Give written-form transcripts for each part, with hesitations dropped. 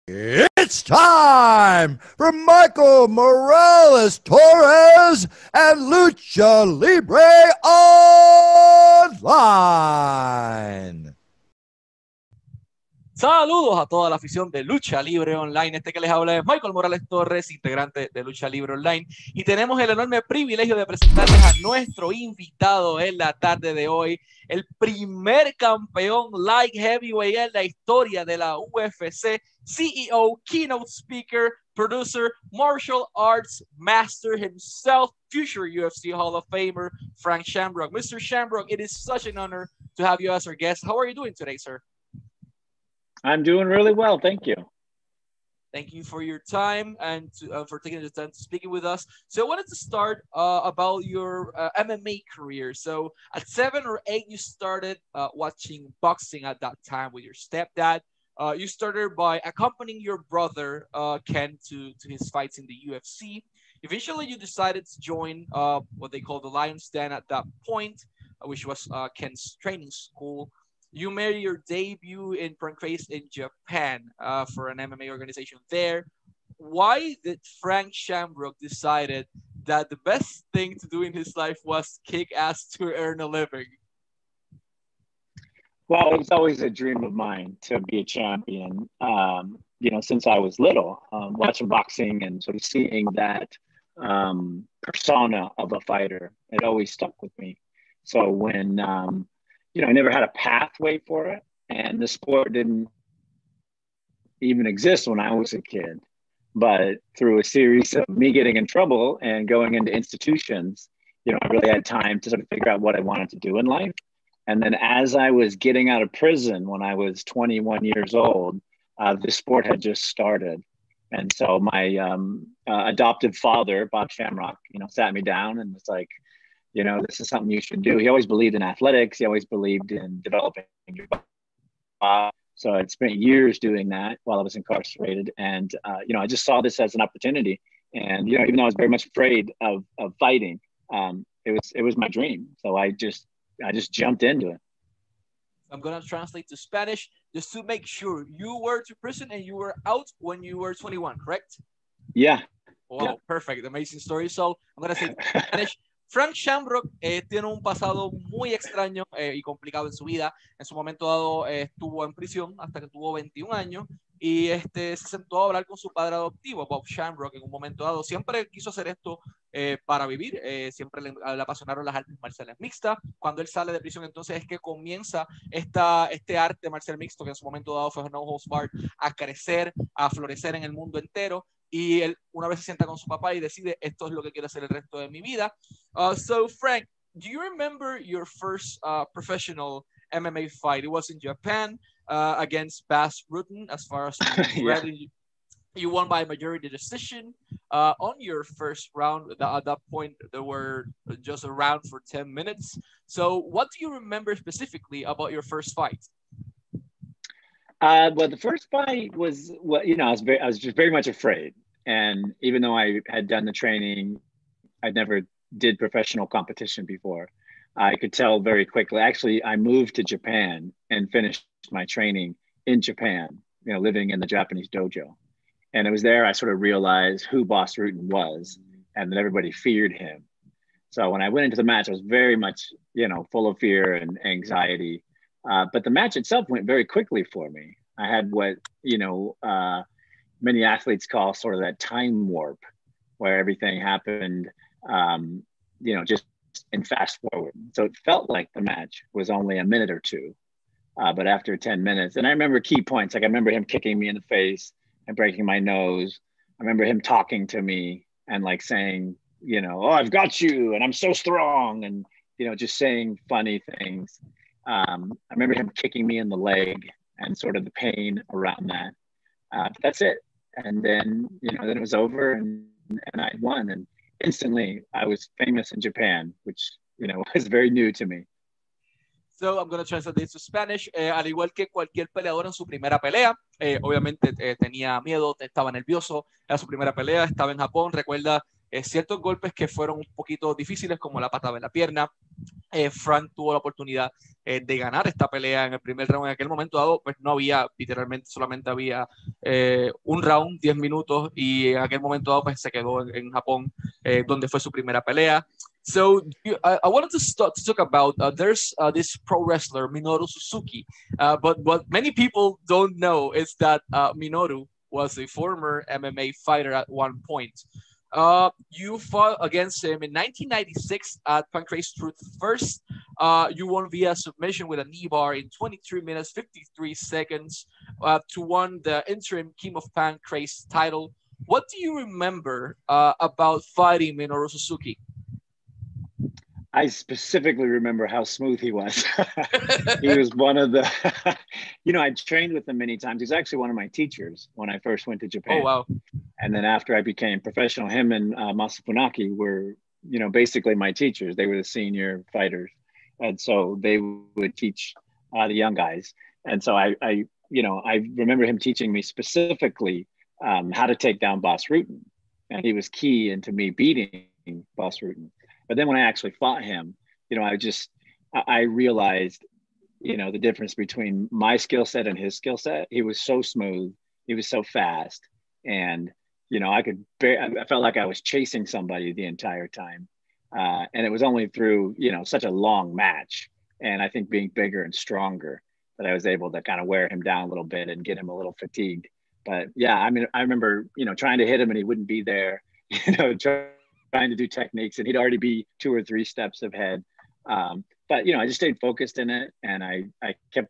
It's time for Michael Morales Torres and Lucha Libre Online. Saludos a toda la afición de Lucha Libre Online. Este que les habla es Michael Morales Torres, integrante de Lucha Libre Online. Y tenemos el enorme privilegio de presentarles a nuestro invitado en la tarde de hoy, el primer campeón light heavyweight en la historia de la UFC, CEO, keynote speaker, producer, martial arts master himself, future UFC Hall of Famer, Frank Shamrock. Mr. Shamrock, it is such an honor to have you as our guest. How are you doing today, sir? I'm doing really well. Thank you. Thank you for your time and for taking the time to speaking with us. So I wanted to start about your MMA career. So at 7 or 8, you started watching boxing at that time with your stepdad. You started by accompanying your brother, Ken, to his fights in the UFC. Eventually, you decided to join what they call the Lion's Den at that point, which was Ken's training school. You made your debut in Pancrase in Japan for an MMA organization there. Why did Frank Shamrock decided that the best thing to do in his life was kick ass to earn a living? Well, it's always a dream of mine to be a champion. Since I was little, watching boxing and sort of seeing that persona of a fighter, it always stuck with me. So when I never had a pathway for it, and the sport didn't even exist when I was a kid. But through a series of me getting in trouble and going into institutions, I really had time to sort of figure out what I wanted to do in life. And then as I was getting out of prison when I was 21 years old, the sport had just started. And so my adoptive father, Bob Shamrock, sat me down and was like, this is something you should do. He always believed in athletics. He always believed in developing your body. So I'd spent years doing that while I was incarcerated. And, I just saw this as an opportunity. And, even though I was very much afraid of fighting, it was my dream. So I just jumped into it. I'm going to translate to Spanish just to make sure. You were to prison and you were out when you were 21, correct? Yeah. Wow, yeah. Perfect. Amazing story. So I'm going to say Spanish. Frank Shamrock tiene un pasado muy extraño y complicado en su vida. En su momento dado estuvo en prisión hasta que tuvo 21 años y se sentó a hablar con su padre adoptivo, Bob Shamrock, en un momento dado. Siempre quiso hacer esto para vivir, siempre le apasionaron las artes marciales mixtas. Cuando él sale de prisión, entonces es que comienza este arte marcial mixto que en su momento dado fue No Holds Barred a crecer, a florecer en el mundo entero. Y él una vez se sienta con su papá y decide, esto es lo que quiero hacer el resto de mi vida. So Frank, do you remember your first professional MMA fight? It was in Japan against Bas Rutten, as far as yeah. You won by majority decision. On your first round, at that point, there were just a round for 10 minutes. So what do you remember specifically about your first fight? Well, the first fight was, I was just very much afraid. And even though I had done the training, I never did professional competition before. I could tell very quickly. Actually, I moved to Japan and finished my training in Japan, living in the Japanese dojo. And it was there I sort of realized who Bas Rutten was and that everybody feared him. So when I went into the match, I was very much, full of fear and anxiety. But the match itself went very quickly for me. I had what, many athletes call sort of that time warp where everything happened, just in fast forward. So it felt like the match was only a minute or two. But after 10 minutes, and I remember key points, like I remember him kicking me in the face and breaking my nose. I remember him talking to me and like saying, oh, I've got you and I'm so strong. And, just saying funny things. I remember him kicking me in the leg and sort of the pain around that. But that's it. And then, then it was over and I won. And instantly I was famous in Japan, which, was very new to me. So I'm going to translate this to Spanish. Al igual que cualquier peleador en su primera pelea, obviamente tenía miedo, estaba nervioso, era su primera pelea, estaba en Japón. Recuerda ciertos golpes que fueron un poquito difíciles, como la patada en la pierna. Frank tuvo la oportunidad de ganar esta pelea en el primer round. En aquel momento dado, pues no había, literalmente solamente había un round, 10 minutos, y en aquel momento dado, pues se quedó en Japón, donde fue su primera pelea. So I wanted to start to talk about there's this pro wrestler Minoru Suzuki, but what many people don't know is that Minoru was a former MMA fighter at one point. You fought against him in 1996 at Pancrase Truth First. You won via submission with a knee bar in 23 minutes 53 seconds to won the interim King of Pancrase title. What do you remember about fighting Minoru Suzuki? I specifically remember how smooth he was. He was one of the, I trained with him many times. He's actually one of my teachers when I first went to Japan. Oh, wow. And then after I became professional, him and Masa Funaki were, basically my teachers. They were the senior fighters. And so they would teach the young guys. And so I remember him teaching me specifically how to take down Bas Rutten. And he was key into me beating Bas Rutten. But then when I actually fought him, I realized, the difference between my skill set and his skill set. He was so smooth. He was so fast. And, I felt like I was chasing somebody the entire time. And it was only through, such a long match. And I think being bigger and stronger that I was able to kind of wear him down a little bit and get him a little fatigued. But yeah, I remember, trying to hit him and he wouldn't be there, trying to do techniques, and he'd already be 2 or 3 steps ahead. But I just stayed focused in it, and I kept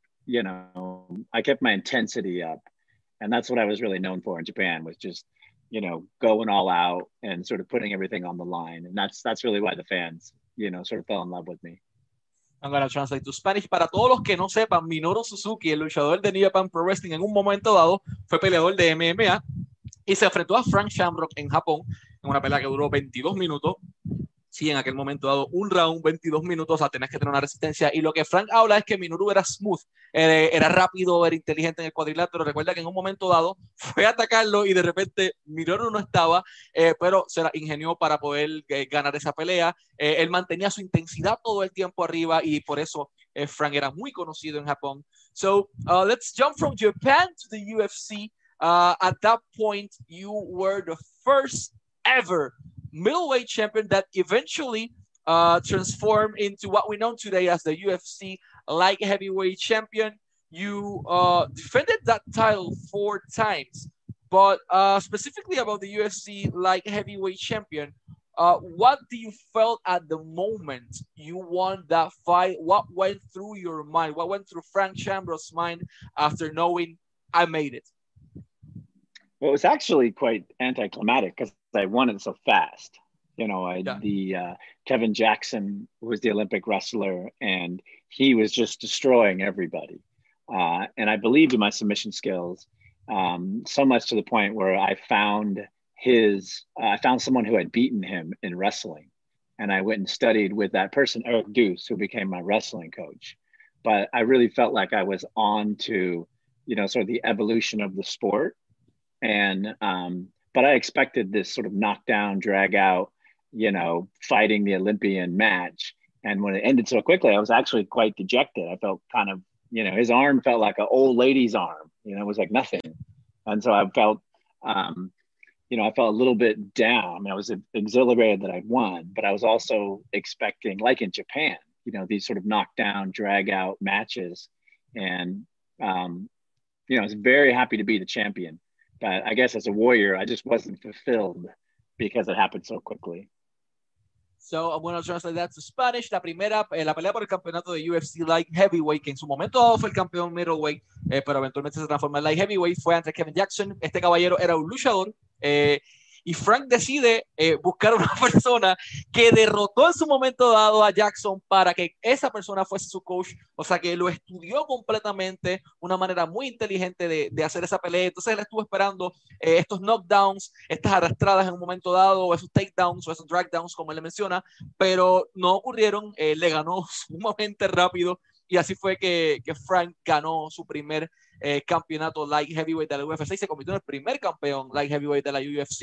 my intensity up, and that's what I was really known for in Japan, was just going all out and sort of putting everything on the line, and that's really why the fans sort of fell in love with me. I'm going to translate to Spanish. Para todos los que no sepan, Minoru Suzuki, el luchador de New Japan Pro Wrestling, en un momento dado fue peleador de MMA y se enfrentó a Frank Shamrock en Japón en una pelea que duró 22 minutos. Sí, en aquel momento dado un round, 22 minutos, o sea, tenés que tener una resistencia. Y lo que Frank habla es que Minoru era smooth, era rápido, era inteligente en el cuadrilátero. Recuerda que en un momento dado fue a atacarlo y de repente Minoru no estaba, pero se la ingenió para poder ganar esa pelea. Él mantenía su intensidad todo el tiempo arriba y por eso Frank era muy conocido en Japón. So, let's jump from Japan to the UFC. At that point, you were the first ever middleweight champion that eventually transformed into what we know today as the UFC light heavyweight champion. You defended that title 4 times, but specifically about the UFC light heavyweight champion, what do you felt at the moment you won that fight? What went through your mind? What went through Frank Shamrock's mind after knowing I made it? Well, it was actually quite anticlimactic because I won it so fast. Kevin Jackson was the Olympic wrestler, and he was just destroying everybody. And I believed in my submission skills, so much to the point where I found someone who had beaten him in wrestling. And I went and studied with that person, Eric Deuce, who became my wrestling coach. But I really felt like I was on to, sort of the evolution of the sport. And, but I expected this sort of knockdown, drag out, fighting the Olympian match. And when it ended so quickly, I was actually quite dejected. I felt kind of, his arm felt like an old lady's arm, it was like nothing. And so I felt, I felt a little bit down. I mean, I was exhilarated that I'd won, but I was also expecting, like in Japan, these sort of knockdown, drag out matches. And, I was very happy to be the champion. But I guess as a warrior, I just wasn't fulfilled because it happened so quickly. So I'm going to translate that to Spanish. La pelea por el campeonato de UFC Light Heavyweight, que en su momento dado fue el campeón Middleweight, pero eventualmente se transformó en Light Heavyweight, fue ante Kevin Jackson. Este caballero era un luchador. Y Frank decide buscar una persona que derrotó en su momento dado a Jackson para que esa persona fuese su coach, o sea que lo estudió completamente, una manera muy inteligente de hacer esa pelea. Entonces él estuvo esperando estos knockdowns, estas arrastradas en un momento dado, o esos takedowns o esos dragdowns como él le menciona, pero no ocurrieron. Le ganó sumamente rápido y así fue que Frank ganó su primer campeonato light heavyweight de la UFC y se convirtió en el primer campeón light heavyweight de la UFC.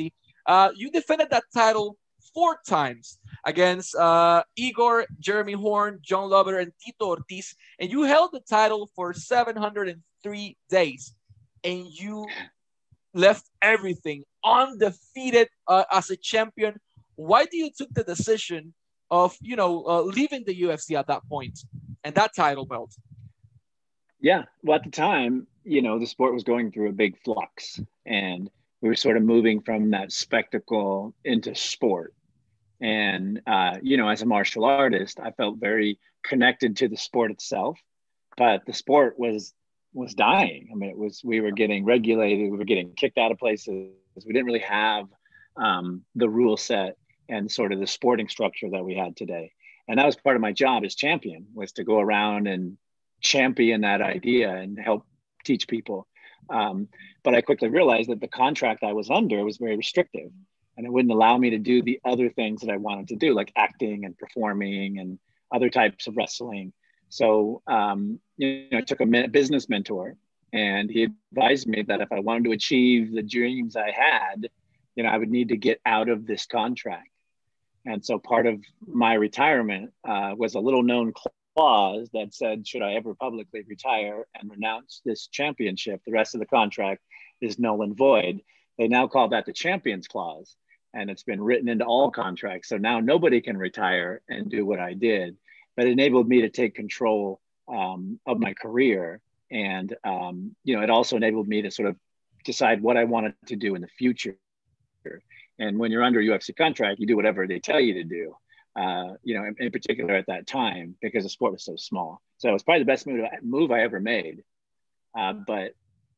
You defended that title 4 times against Igor, Jeremy Horn, John Lover, and Tito Ortiz, and you held the title for 703 days, and you left everything undefeated as a champion. Why do you took the decision of leaving the UFC at that point and that title belt? Yeah, well, at the time, the sport was going through a big flux, and we were sort of moving from that spectacle into sport. And as a martial artist, I felt very connected to the sport itself, but the sport was dying. I mean, we were getting regulated, we were getting kicked out of places. We didn't really have the rule set and sort of the sporting structure that we had today. And that was part of my job as champion, was to go around and champion that idea and help teach people. But I quickly realized that the contract I was under was very restrictive, and it wouldn't allow me to do the other things that I wanted to do, like acting and performing and other types of wrestling. So, I took a business mentor, and he advised me that if I wanted to achieve the dreams I had, I would need to get out of this contract. And so part of my retirement was a little known clause that said, should I ever publicly retire and renounce this championship, the rest of the contract is null and void. They now call that the Champions Clause, and it's been written into all contracts. So now nobody can retire and do what I did, but it enabled me to take control of my career. And, it also enabled me to sort of decide what I wanted to do in the future. And when you're under a UFC contract, you do whatever they tell you to do, in particular at that time, because the sport was so small. So it was probably the best move I ever made. But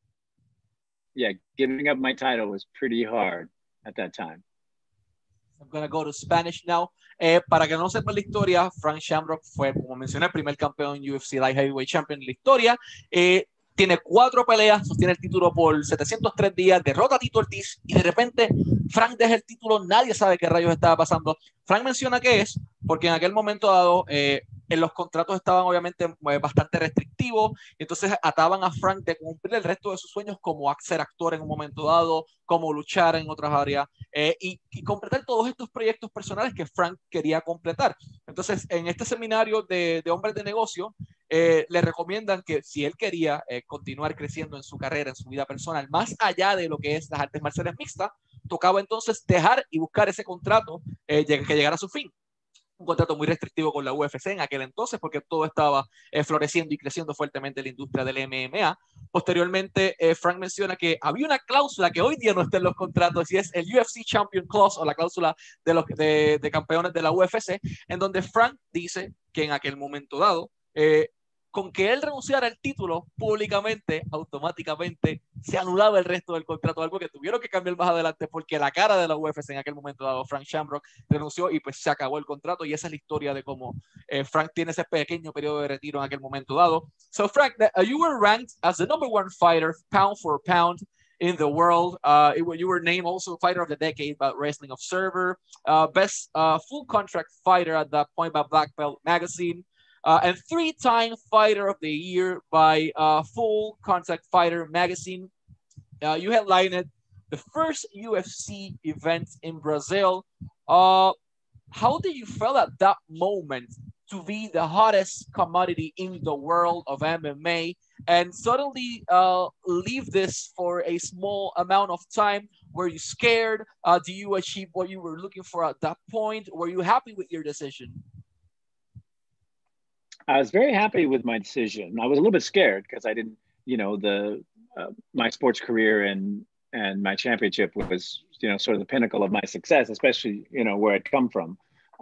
yeah, giving up my title was pretty hard at that time. I'm going to go to Spanish now. Para que no sepan la historia, Frank Shamrock fue, como mencioné, el primer campeón UFC Light Heavyweight Champion de la historia. Tiene 4 peleas, sostiene el título por 703 días, derrota a Tito Ortiz y de repente Frank deja el título, nadie sabe qué rayos estaba pasando. Frank menciona que es porque en aquel momento dado en los contratos estaban obviamente bastante restrictivos, y entonces ataban a Frank de cumplir el resto de sus sueños, como ser actor en un momento dado, como luchar en otras áreas y completar todos estos proyectos personales que Frank quería completar. Entonces en este seminario de hombres de negocio le recomiendan que si él quería continuar creciendo en su carrera, en su vida personal, más allá de lo que es las artes marciales mixtas, tocaba entonces dejar y buscar ese contrato que llegara a su fin. Un contrato muy restrictivo con la UFC en aquel entonces, porque todo estaba floreciendo y creciendo fuertemente la industria del MMA. Posteriormente, Frank menciona que había una cláusula que hoy día no está en los contratos, y es el UFC Champion Clause, o la cláusula de campeones de la UFC, en donde Frank dice que en aquel momento dado, con que él renunciara al título públicamente, automáticamente se anulaba el resto del contrato, algo que tuvieron que cambiar más adelante porque la cara de la UFC en aquel momento dado, Frank Shamrock, renunció y pues se acabó el contrato, y esa es la historia de cómo Frank tiene ese pequeño periodo de retiro en aquel momento dado. So Frank, you were ranked as the #1 fighter, pound for pound, in the world. You were named also Fighter of the Decade by Wrestling Observer, best full contract fighter at that point by Black Belt Magazine, and 3-time Fighter of the Year by Full Contact Fighter Magazine. You headlined the first UFC event in Brazil. How did you feel at that moment to be the hottest commodity in the world of MMA and suddenly leave this for a small amount of time? Were you scared? Do you achieve what you were looking for at that point? Were you happy with your decision? I was very happy with my decision. I was a little bit scared because I didn't, my sports career and my championship was, sort of the pinnacle of my success, especially, where I'd come from.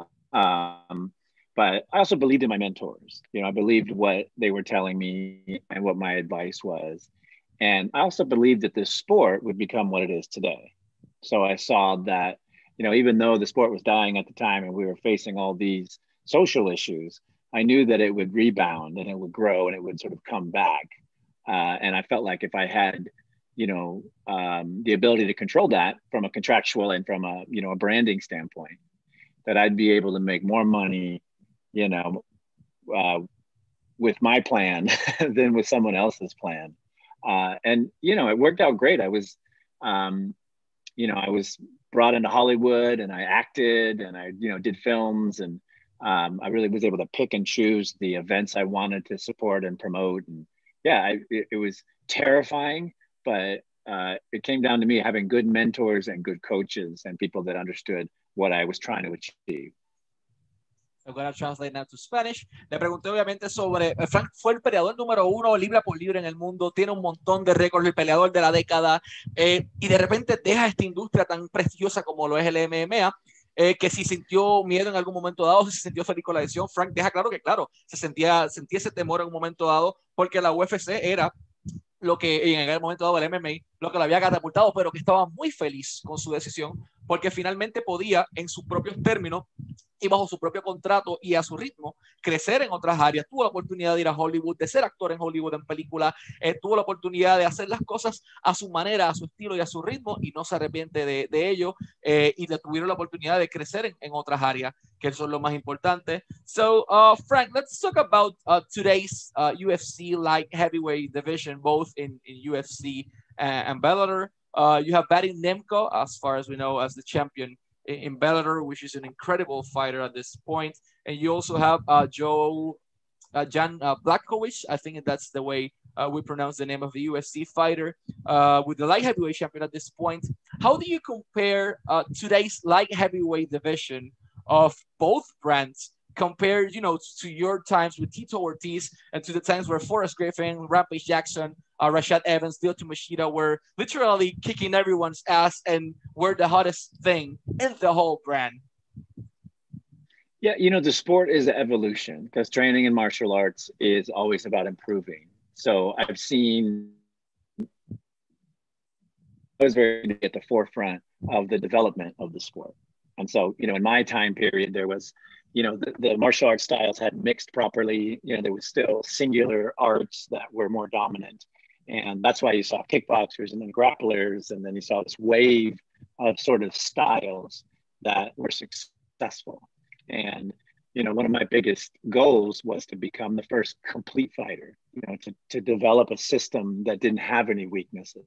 But I also believed in my mentors. I believed what they were telling me and what my advice was. And I also believed that this sport would become what it is today. So I saw that, even though the sport was dying at the time and we were facing all these social issues, I knew that it would rebound and it would grow and it would sort of come back. And I felt like if I had, the ability to control that from a contractual and from a, a branding standpoint, that I'd be able to make more money, with my plan than with someone else's plan. And, it worked out great. I was brought into Hollywood, and I acted, and I, did films, and I really was able to pick and choose the events I wanted to support and promote. And yeah, it was terrifying, but it came down to me having good mentors and good coaches and people that understood what I was trying to achieve. I'm going to translate now to Spanish. Le pregunté obviamente sobre, Frank fue el peleador número 1 libra por libra en el mundo, tiene un montón de récords, el peleador de la década, y de repente deja esta industria tan prestigiosa como lo es el MMA, que si sintió miedo en algún momento dado, si se sintió feliz con la decisión. Frank deja claro que, claro, sentía ese temor en un momento dado, porque la UFC era lo que en aquel momento dado el MMA, lo que lo había catapultado, pero que estaba muy feliz con su decisión, porque finalmente podía, en sus propios términos y bajo su propio contrato y a su ritmo, crecer en otras áreas. Tuvo la oportunidad de ir a Hollywood, de ser actor en Hollywood en película, tuvo la oportunidad de hacer las cosas a su manera, a su estilo y a su ritmo, y no se arrepiente de ello, y le tuvieron la oportunidad de crecer en otras áreas, que eso es lo más importante. So, Frank, let's talk about today's UFC light heavyweight division, both in UFC and Bellator. You have Vadim Nemko, as far as we know, as the champion in Bellator, which is an incredible fighter at this point. And you also have Jan Blachowicz, I think that's the way we pronounce the name of the UFC fighter, with the light heavyweight champion at this point. How do you compare today's light heavyweight division of both brands compared, to your times with Tito Ortiz and to the times where Forrest Griffin, Rampage Jackson, Rashad Evans, Lyoto Machida were literally kicking everyone's ass and were the hottest thing in the whole brand? Yeah, the sport is an evolution, because training in martial arts is always about improving. So I've seen, I was very at the forefront of the development of the sport. And so, in my time period, there was, the martial arts styles hadn't mixed properly. There was still singular arts that were more dominant. And that's why you saw kickboxers and then grapplers. And then you saw this wave of sort of styles that were successful. And, one of my biggest goals was to become the first complete fighter, to develop a system that didn't have any weaknesses,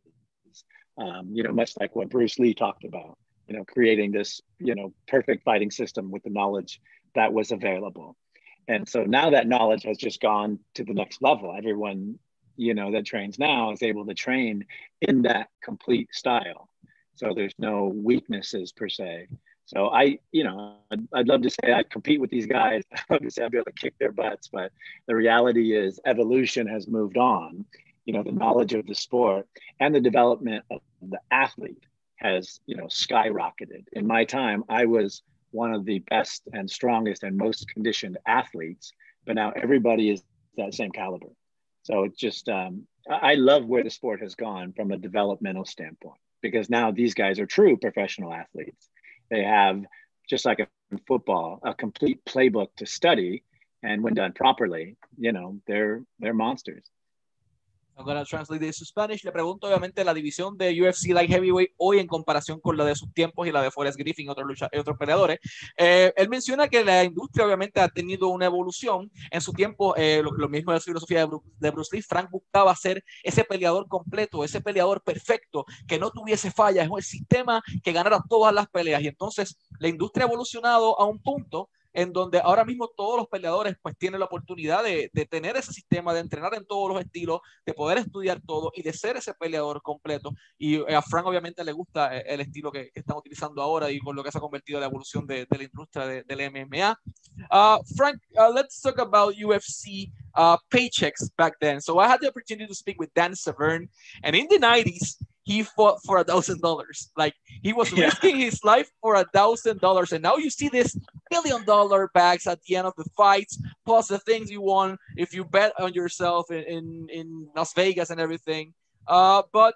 much like what Bruce Lee talked about, creating this, perfect fighting system with the knowledge that was available. And so now that knowledge has just gone to the next level. Everyone, that trains now is able to train in that complete style. So there's no weaknesses per se. So I'd love to say I'd compete with these guys. I'd love to say I'd be able to kick their butts, but the reality is evolution has moved on. The knowledge of the sport and the development of the athlete has, skyrocketed. In my time, I was one of the best and strongest and most conditioned athletes, but now everybody is that same caliber. So it's just, I love where the sport has gone from a developmental standpoint, because now these guys are true professional athletes. They have, just like in football, a complete playbook to study, and when done properly, they're monsters. I'm going to translate this to Spanish. Le pregunto obviamente la división de UFC Light Heavyweight hoy en comparación con la de sus tiempos y la de Forrest Griffin y otros peleadores. Él menciona que la industria obviamente ha tenido una evolución. En su tiempo, lo mismo de la filosofía de Bruce Lee, Frank buscaba ser ese peleador completo, ese peleador perfecto, que no tuviese fallas, es el sistema que ganara todas las peleas. Y entonces la industria ha evolucionado a un punto en donde ahora mismo todos los peleadores pues tienen la oportunidad de tener ese sistema, de entrenar en todos los estilos, de poder estudiar todo y de ser ese peleador completo. Y a Frank obviamente le gusta el estilo que están utilizando ahora y con lo que se ha convertido en la evolución de la industria del MMA. Frank, let's talk about UFC paychecks back then. So I had the opportunity to speak with Dan Severn, and in the 90s, he fought for $1,000. Like, he was risking his life for $1,000. And now you see this $1 million bags at the end of the fights, plus the things you won if you bet on yourself in Las Vegas and everything. But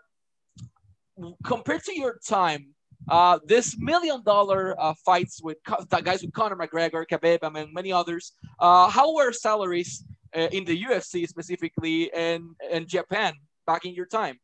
compared to your time, this $1 million fights with guys with Conor McGregor, Khabib, and many others, how were salaries in the UFC specifically and Japan back in your time?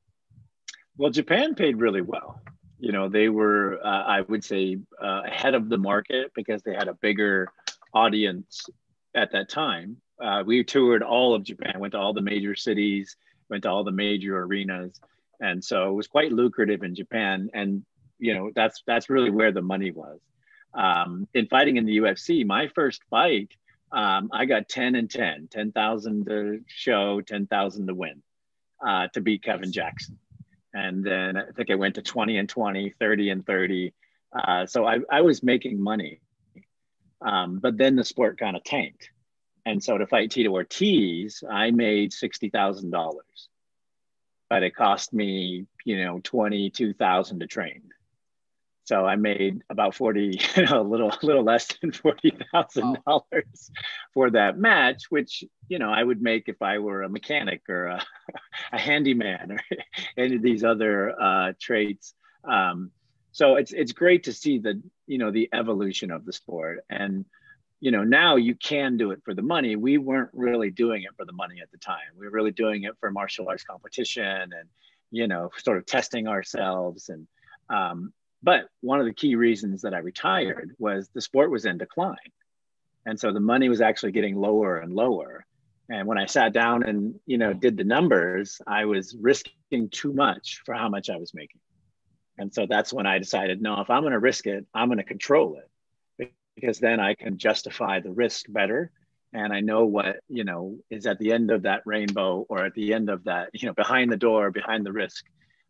Well, Japan paid really well. They were, I would say, ahead of the market because they had a bigger audience at that time. We toured all of Japan, went to all the major cities, went to all the major arenas. And so it was quite lucrative in Japan. And, you know, that's really where the money was. In fighting in the UFC, my first fight, I got 10 and 10, 10,000 to show, 10,000 to win, to beat Kevin Jackson. And then I think I went to 20 and 20, 30 and 30. So I was making money. But then the sport kind of tanked. And so to fight Tito Ortiz, I made $60,000, but it cost me, you know, 22,000 to train. So I made about 40, you know, a little less than $40,000 for that match, which, you know, I would make if I were a mechanic or a handyman or any of these other traits. So it's great to see the, you know, the evolution of the sport. And, you know, now you can do it for the money. We weren't really doing it for the money at the time. We were really doing it for martial arts competition and, you know, sort of testing ourselves. And, but one of the key reasons that I retired was the sport was in decline. And so the money was actually getting lower and lower. And when I sat down and, you know, did the numbers, I was risking too much for how much I was making. And so that's when I decided, no, if I'm going to risk it, I'm going to control it, because then I can justify the risk better. And I know what, you know, is at the end of that rainbow, or at the end of that, you know, behind the door, behind the risk.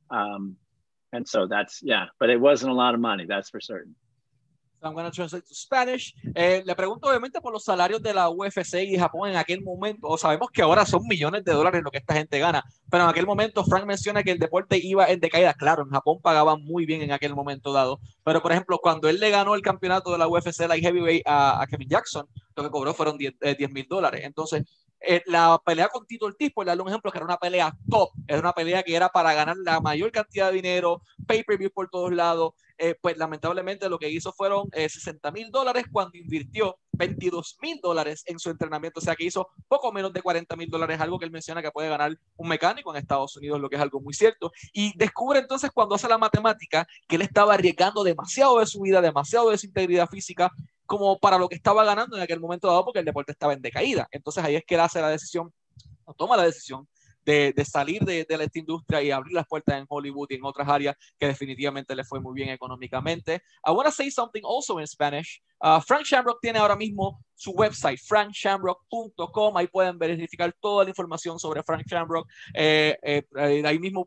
And so that's, yeah, but it wasn't a lot of money, that's for certain. So I'm going to translate to Spanish. Le pregunto obviamente por los salarios de la UFC y Japón en aquel momento. O sabemos que ahora son millones de dólares lo que esta gente gana, pero en aquel momento Frank menciona que el deporte iba en decaída. Claro, en Japón pagaban muy bien en aquel momento dado, pero por ejemplo, cuando él le ganó el campeonato de la UFC Light Heavyweight a Kevin Jackson, lo que cobró fueron $10,000. Entonces, la pelea con Tito Ortiz, por darle un ejemplo, que era una pelea top, era una pelea que era para ganar la mayor cantidad de dinero, pay-per-view por todos lados, pues lamentablemente lo que hizo fueron $60,000 cuando invirtió $22,000 en su entrenamiento, o sea que hizo poco menos de $40,000, algo que él menciona que puede ganar un mecánico en Estados Unidos, lo que es algo muy cierto, y descubre entonces cuando hace la matemática que él estaba arriesgando demasiado de su vida, demasiado de su integridad física, como para lo que estaba ganando en aquel momento dado, porque el deporte estaba en decaída. Entonces ahí es que él hace la decisión, o toma la decisión de salir de esta industria y abrir las puertas en Hollywood y en otras áreas que definitivamente le fue muy bien económicamente. I want to say something also in Spanish. Frank Shamrock tiene ahora mismo su website, frankshamrock.com. Ahí pueden verificar toda la información sobre Frank Shamrock. Ahí mismo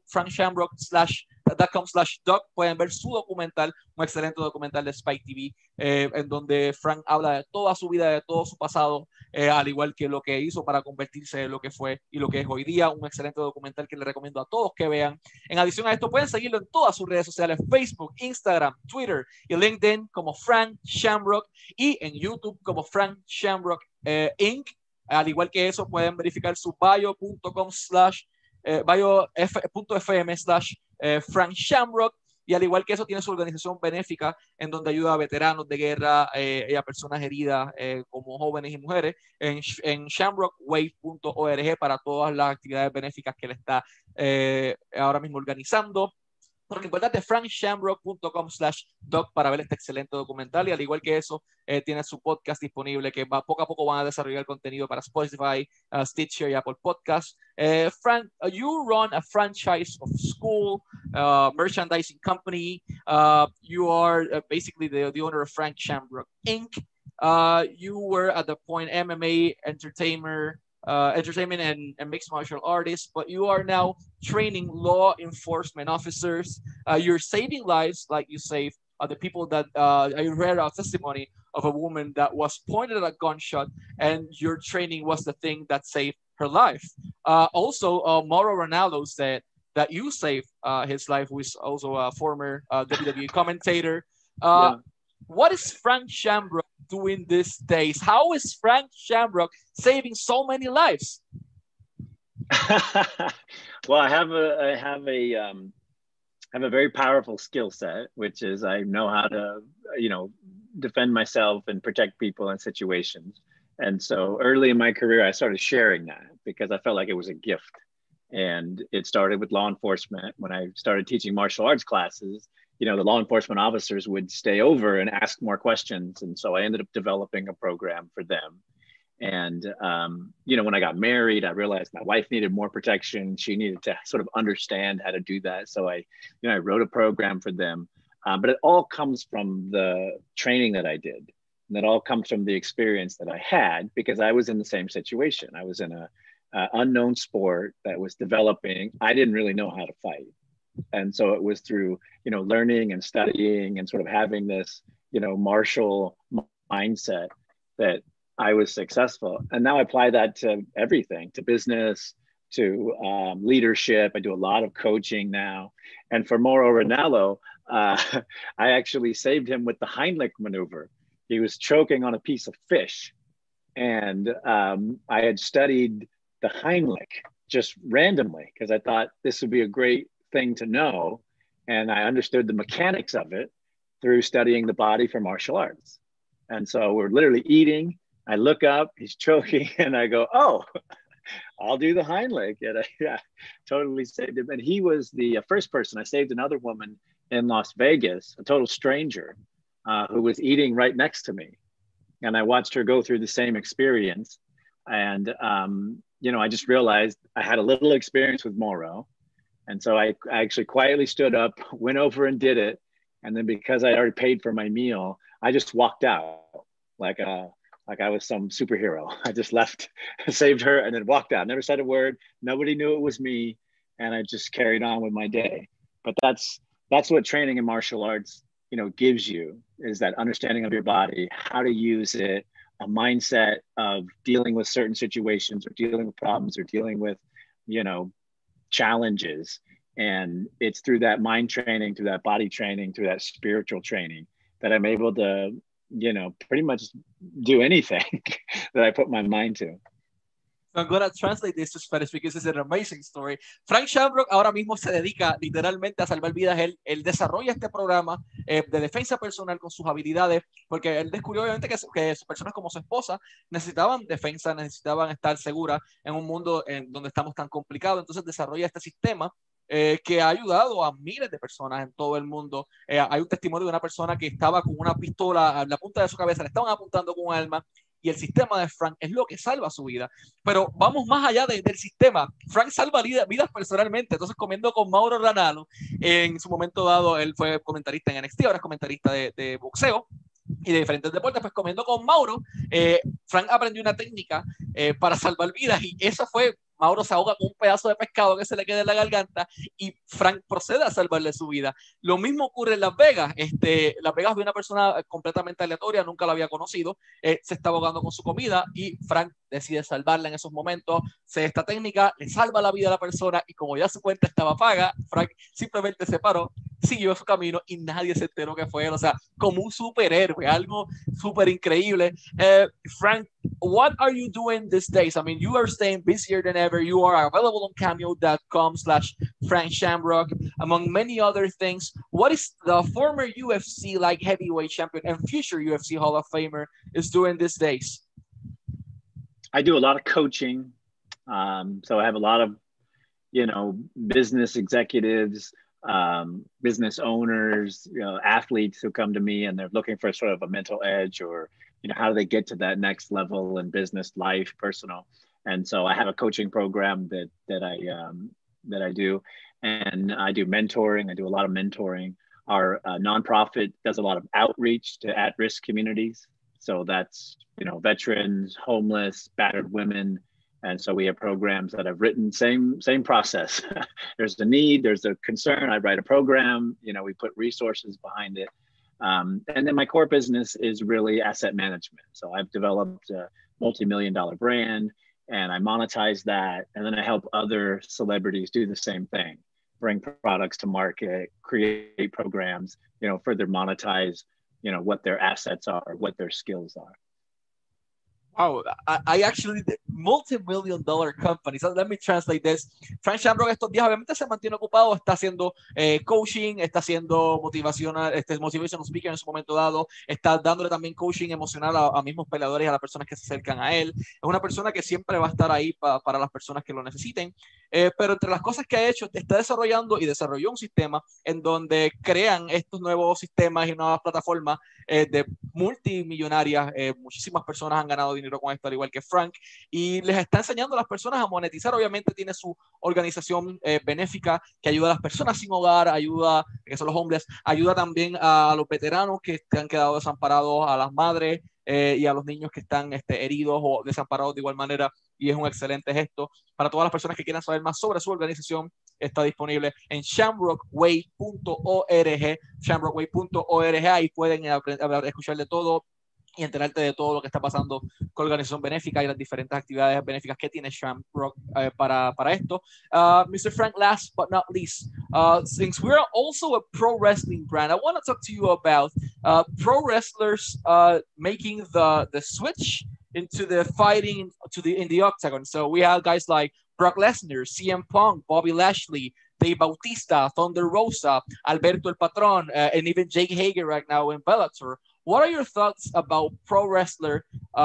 frankshamrock.com/doc pueden ver su documental, un excelente documental de Spike TV, en donde Frank habla de toda su vida, de todo su pasado, al igual que lo que hizo para convertirse en lo que fue y lo que es hoy día. Un excelente documental que le recomiendo a todos que vean. En adición a esto, pueden seguirlo en todas sus redes sociales, Facebook, Instagram, Twitter y LinkedIn como Frank Shamrock, y en YouTube como Frank Shamrock Inc. Al igual que eso, pueden verificar su bio.fm/Frank Shamrock, y al igual que eso tiene su organización benéfica en donde ayuda a veteranos de guerra y a personas heridas como jóvenes y mujeres en shamrockwave.org para todas las actividades benéficas que él está ahora mismo organizando. Porque importante, frankshamrock.com/doc para ver este excelente documental, y al igual que eso tiene su podcast disponible que poco a poco van a desarrollar contenido para Spotify, Stitcher y Apple Podcasts. Frank, you run a franchise of school, merchandising company. You are basically the owner of Frank Shamrock Inc. You were at the point MMA entertainment and mixed martial artists, but you are now training law enforcement officers. You're saving lives, like you saved the people that I read a testimony of a woman that was pointed at a gunshot, and your training was the thing that saved her life. Also, Mauro Ranallo said that you saved his life, who is also a former WWE commentator. Yeah. What is Frank Shamrock doing these days? How is Frank Shamrock saving so many lives? Well, I have a very powerful skill set, which is I know how to, you know, defend myself and protect people in situations. And so early in my career, I started sharing that because I felt like it was a gift. And it started with law enforcement. When I started teaching martial arts classes, you know, the law enforcement officers would stay over and ask more questions. And so I ended up developing a program for them. And, you know, when I got married, I realized my wife needed more protection. She needed to sort of understand how to do that. So I wrote a program for them. But it all comes from the training that I did. And that all comes from the experience that I had, because I was in the same situation. I was in a unknown sport that was developing. I didn't really know how to fight. And so it was through, learning and studying and sort of having this, martial mindset that I was successful. And now I apply that to everything, to business, to leadership. I do a lot of coaching now. And for Mauro Ranallo, I actually saved him with the Heimlich maneuver. He was choking on a piece of fish. And I had studied the Heimlich just randomly because I thought this would be a great thing to know. And I understood the mechanics of it through studying the body for martial arts. And so we're literally eating. I look up, he's choking, and I go, oh, I'll do the Heimlich. And I totally saved him. And he was the first person. I saved another woman in Las Vegas, a total stranger, who was eating right next to me. And I watched her go through the same experience. And, I just realized I had a little experience with Mauro. And so I actually quietly stood up, went over and did it. And then because I already paid for my meal, I just walked out like I was some superhero. I just left, saved her, and then walked out. Never said a word. Nobody knew it was me. And I just carried on with my day. But that's what training in martial arts, gives you, is that understanding of your body, how to use it, a mindset of dealing with certain situations or dealing with problems or dealing with, challenges. And it's through that mind training, through that body training, through that spiritual training that I'm able to, pretty much do anything that I put my mind to. So I'm going to translate this to Spanish because it's an amazing story. Frank Shamrock ahora mismo se dedica literalmente a salvar vidas. Él desarrolla este programa de defensa personal con sus habilidades, porque él descubrió obviamente que personas como su esposa necesitaban defensa, necesitaban estar seguras en un mundo donde estamos tan complicados. Entonces desarrolla este sistema que ha ayudado a miles de personas en todo el mundo. Hay un testimonio de una persona que estaba con una pistola a la punta de su cabeza, le estaban apuntando con un arma, y el sistema de Frank es lo que salva su vida. Pero vamos más allá del sistema. Frank salva vidas personalmente. Entonces, comiendo con Mauro Ranallo, en su momento dado, él fue comentarista en NXT, ahora es comentarista de boxeo y de diferentes deportes. Pues comiendo con Mauro, Frank aprendió una técnica para salvar vidas, y eso fue: Mauro se ahoga con un pedazo de pescado que se le queda en la garganta y Frank procede a salvarle su vida. Lo mismo ocurre en Las Vegas. Las Vegas, vi una persona completamente aleatoria, nunca la había conocido, se está ahogando con su comida y Frank decide salvarla en esos momentos. Esta técnica le salva la vida a la persona, y como ya su cuenta estaba paga, Frank simplemente se paró, siguió su camino y nadie se enteró que fue él. O sea, como un superhéroe, algo súper increíble. Frank, what are you doing these days? I mean, you are staying busier than ever. You are available on cameo.com/Frank Shamrock, among many other things. What is the former UFC light heavyweight champion and future UFC Hall of Famer is doing these days? I do a lot of coaching. So I have a lot of, business executives, business owners, athletes who come to me and they're looking for sort of a mental edge, or, how do they get to that next level in business, life, personal. And so I have a coaching program that I do, and I do mentoring. I do a lot of mentoring. Our nonprofit does a lot of outreach to at-risk communities. So that's, veterans, homeless, battered women. And so we have programs that I've written, same process. There's a need, there's a concern, I write a program, we put resources behind it. And then my core business is really asset management. So I've developed a multi-million-dollar brand, and I monetize that. And then I help other celebrities do the same thing, bring products to market, create programs, further monetize, what their assets are, what their skills are. Wow, I actually multi-million-dollar company. So let me translate this. Frank Shamrock estos días obviamente se mantiene ocupado, está haciendo coaching, está haciendo motivational speaker en su momento dado, está dándole también coaching emocional a mismos peleadores y a las personas que se acercan a él. Es una persona que siempre va a estar ahí para las personas que lo necesiten. pero entre las cosas que ha hecho, está desarrollando y desarrolló un sistema en donde crean estos nuevos sistemas y nuevas plataformas de multimillonarias. Muchísimas personas han ganado dinero con esto, al igual que Frank, y les está enseñando a las personas a monetizar. Obviamente tiene su organización benéfica que ayuda a las personas sin hogar, ayuda, que son los hombres, ayuda también a los veteranos que han quedado desamparados, a las madres y a los niños que están heridos o desamparados de igual manera, y es un excelente gesto. Para todas las personas que quieran saber más sobre su organización, está disponible en shamrockway.org, shamrockway.org, ahí pueden escuchar de todo y enterarte de todo lo que está pasando con la organización benéfica y las diferentes actividades benéficas que tiene Shamrock para esto. Mr. Frank, last but not least, since we're also a pro wrestling brand, I want to talk to you about pro wrestlers making the switch into the fighting in the octagon. So we have guys like Brock Lesnar, CM Punk, Bobby Lashley, Dave Bautista, Thunder Rosa, Alberto El Patron, and even Jake Hager right now in Bellator. What are your thoughts about pro wrestlers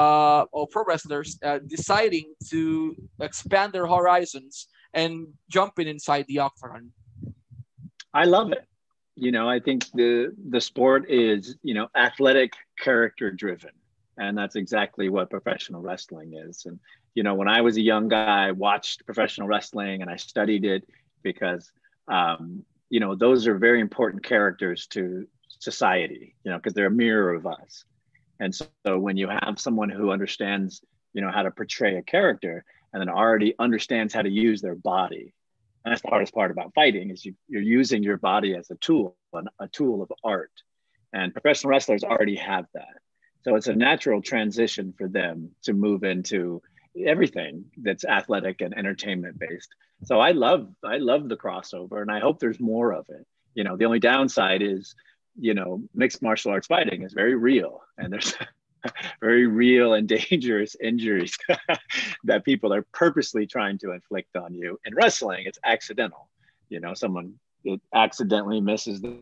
deciding to expand their horizons and jumping inside the octagon? I love it. You know, I think the sport is, you know, athletic, character driven. And that's exactly what professional wrestling is. And, you know, when I was a young guy, I watched professional wrestling and I studied it because, you know, those are very important characters to society, you know, because they're a mirror of us. And so when you have someone who understands, you know, how to portray a character and then already understands how to use their body, and that's the hardest part about fighting is you're using your body as a tool of art. And professional wrestlers already have that. So it's a natural transition for them to move into everything that's athletic and entertainment based. So I love the crossover, and I hope there's more of it. You know, the only downside is, you know, mixed martial arts fighting is very real, and there's very real and dangerous injuries that people are purposely trying to inflict on you. In wrestling, it's accidental. You know, someone accidentally misses the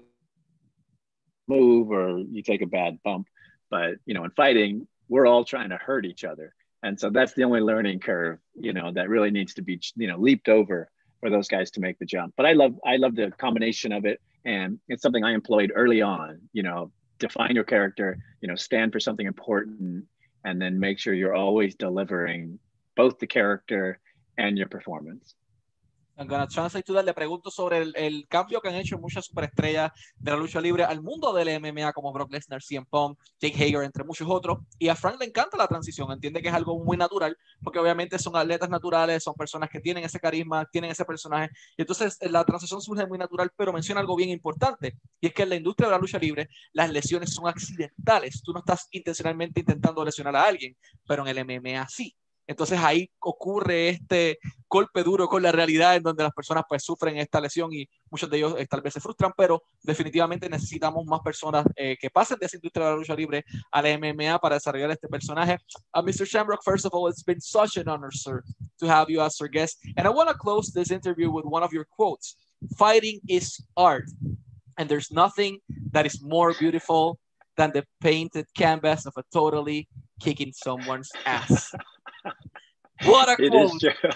move or you take a bad bump. But, you know, in fighting, we're all trying to hurt each other. And so that's the only learning curve, you know, that really needs to be, you know, leaped over for those guys to make the jump. But I love the combination of it. And it's something I employed early on, you know, define your character, you know, stand for something important, and then make sure you're always delivering both the character and your performance. I'm gonna translate to that. Le pregunto sobre el cambio que han hecho muchas superestrellas de la lucha libre al mundo del MMA, como Brock Lesnar, CM Punk, Jake Hager, entre muchos otros. Y a Frank le encanta la transición, entiende que es algo muy natural, porque obviamente son atletas naturales, son personas que tienen ese carisma, tienen ese personaje. Y entonces la transición surge muy natural, pero menciona algo bien importante, y es que en la industria de la lucha libre las lesiones son accidentales. Tú no estás intencionalmente intentando lesionar a alguien, pero en el MMA sí. Entonces ahí ocurre este golpe duro con la realidad, en donde las personas pues sufren esta lesión y muchos de ellos tal vez se frustran, pero definitivamente necesitamos más personas que pasen de esa industria de la lucha libre a la MMA para desarrollar este personaje. Mr. Shamrock, first of all, it's been such an honor, sir, to have you as our guest. And I want to close this interview with one of your quotes. Fighting is art, and there's nothing that is more beautiful than the painted canvas of a totally kicking someone's ass. What a quote. It is true.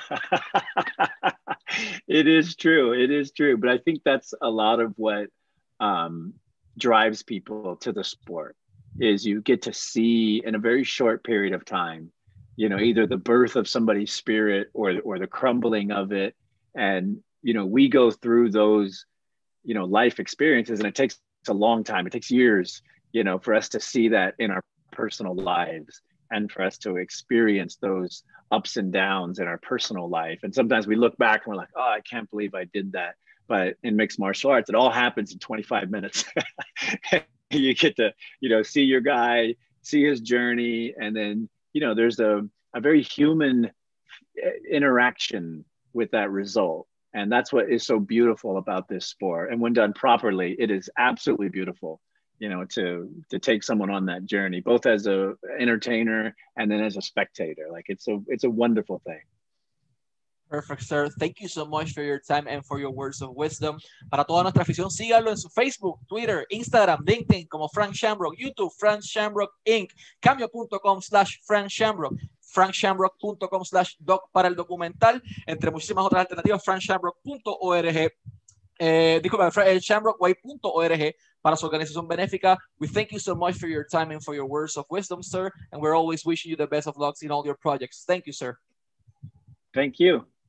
It is true. It is true. But I think that's a lot of what drives people to the sport, is you get to see in a very short period of time, you know, either the birth of somebody's spirit or the crumbling of it. And, you know, we go through those, you know, life experiences, and it takes a long time. It takes years, you know, for us to see that in our personal lives, and for us to experience those ups and downs in our personal life. And sometimes we look back and we're like, oh, I can't believe I did that. But in mixed martial arts, it all happens in 25 minutes. You get to, you know, see your guy, see his journey. And then, you know, there's a very human interaction with that result. And that's what is so beautiful about this sport. And when done properly, it is absolutely beautiful, you know, to take someone on that journey, both as a entertainer and then as a spectator. Like it's a wonderful thing. Perfect, sir. Thank you so much for your time and for your words of wisdom. Para toda nuestra afición, síganlo en su Facebook, Twitter, Instagram, LinkedIn como Frank Shamrock, YouTube, Frank Shamrock Inc., Cameo.com/Frank Shamrock, frankshamrock.com/doc para el documental, entre muchísimas otras alternativas, frankshamrock.org. Disculpa, shamrockway.org para su organización benéfica. We thank you so much for your time and for your words of wisdom, sir, and we're always wishing you the best of luck in all your projects. Thank you, sir. Thank you.